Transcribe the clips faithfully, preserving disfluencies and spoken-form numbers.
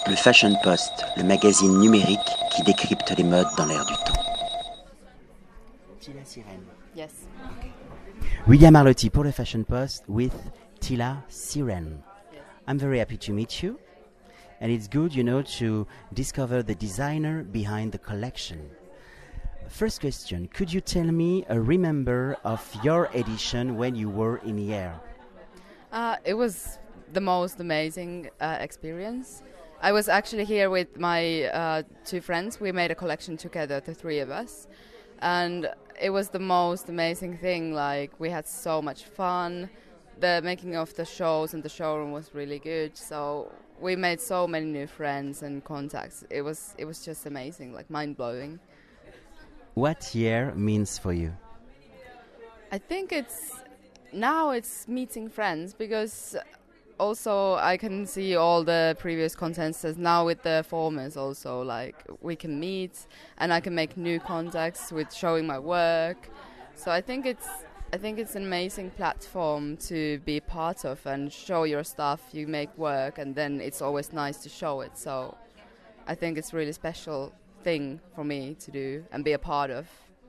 Le Fashion Post, le magazine numérique qui décrypte les modes dans l'air du temps. Tila Sirène. Yes. Okay. William Arlotti pour le Fashion Post with Tila Sirène. Yes. I'm very happy to meet you. And it's good, you know, to discover the designer behind the collection. First question, could you tell me a remember of your edition when you were in here? Uh, it was the most amazing uh, experience. I was actually here with my uh, two friends. We made a collection together, the three of us. And it was the most amazing thing. Like, we had so much fun. The making of the shows and the showroom was really good. So we made so many new friends and contacts. It was it was just amazing, like mind-blowing. What year means for you? I think it's now it's meeting friends, because also I can see all the previous contents as now with the formers also, like we can meet and I can make new contacts with showing my work. So I think it's I think it's an amazing platform to be part of and show your stuff. You make work and then it's always nice to show it. So I think it's a really special thing for me to do and be a part of.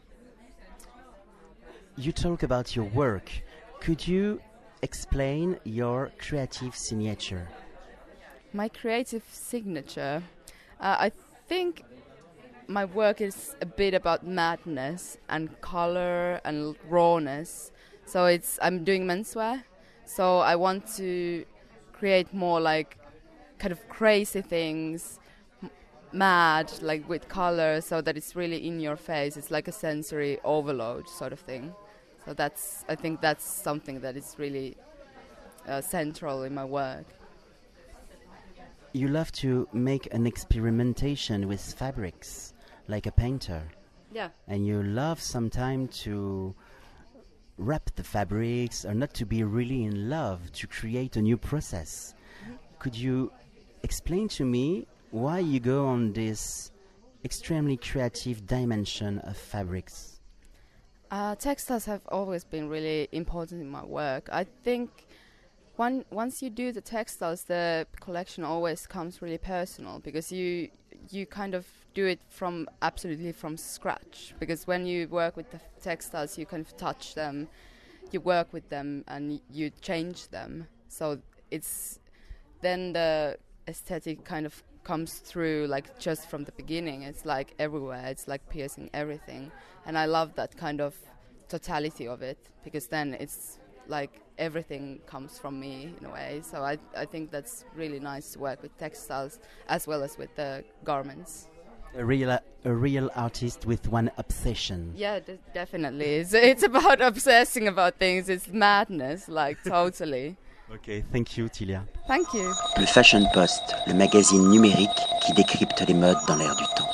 You talk about your work. Could you explain your creative signature? My creative signature? Uh, I think my work is a bit about madness and color and rawness. So it's I'm doing menswear. So I want to create more like kind of crazy things, mad, like with color, so that it's really in your face. It's like a sensory overload sort of thing. So that's, I think that's something that is really uh, central in my work. You love to make an experimentation with fabrics, like a painter. Yeah. And you love sometimes to wrap the fabrics, or not to be really in love, to create a new process. Mm-hmm. Could you explain to me why you go on this extremely creative dimension of fabrics? Uh, textiles have always been really important in my work. I think one, once you do the textiles, the collection always comes really personal, because you you kind of do it from absolutely from scratch. Because when you work with the textiles, you kind of touch them, you work with them, and y- you change them. So it's then the aesthetic kind of comes through, like just from the beginning. It's like everywhere. It's like piercing everything, and I love that kind of totality of it, because then it's like everything comes from me in a way. So I I think that's really nice to work with textiles as well as with the garments. A real a real artist with one obsession. Yeah, d- definitely. It's, it's about obsessing about things. It's madness, like totally. Okay, thank you, Tilia. Thank you. Le Fashion Post, le magazine numérique qui décrypte les modes dans l'air du temps.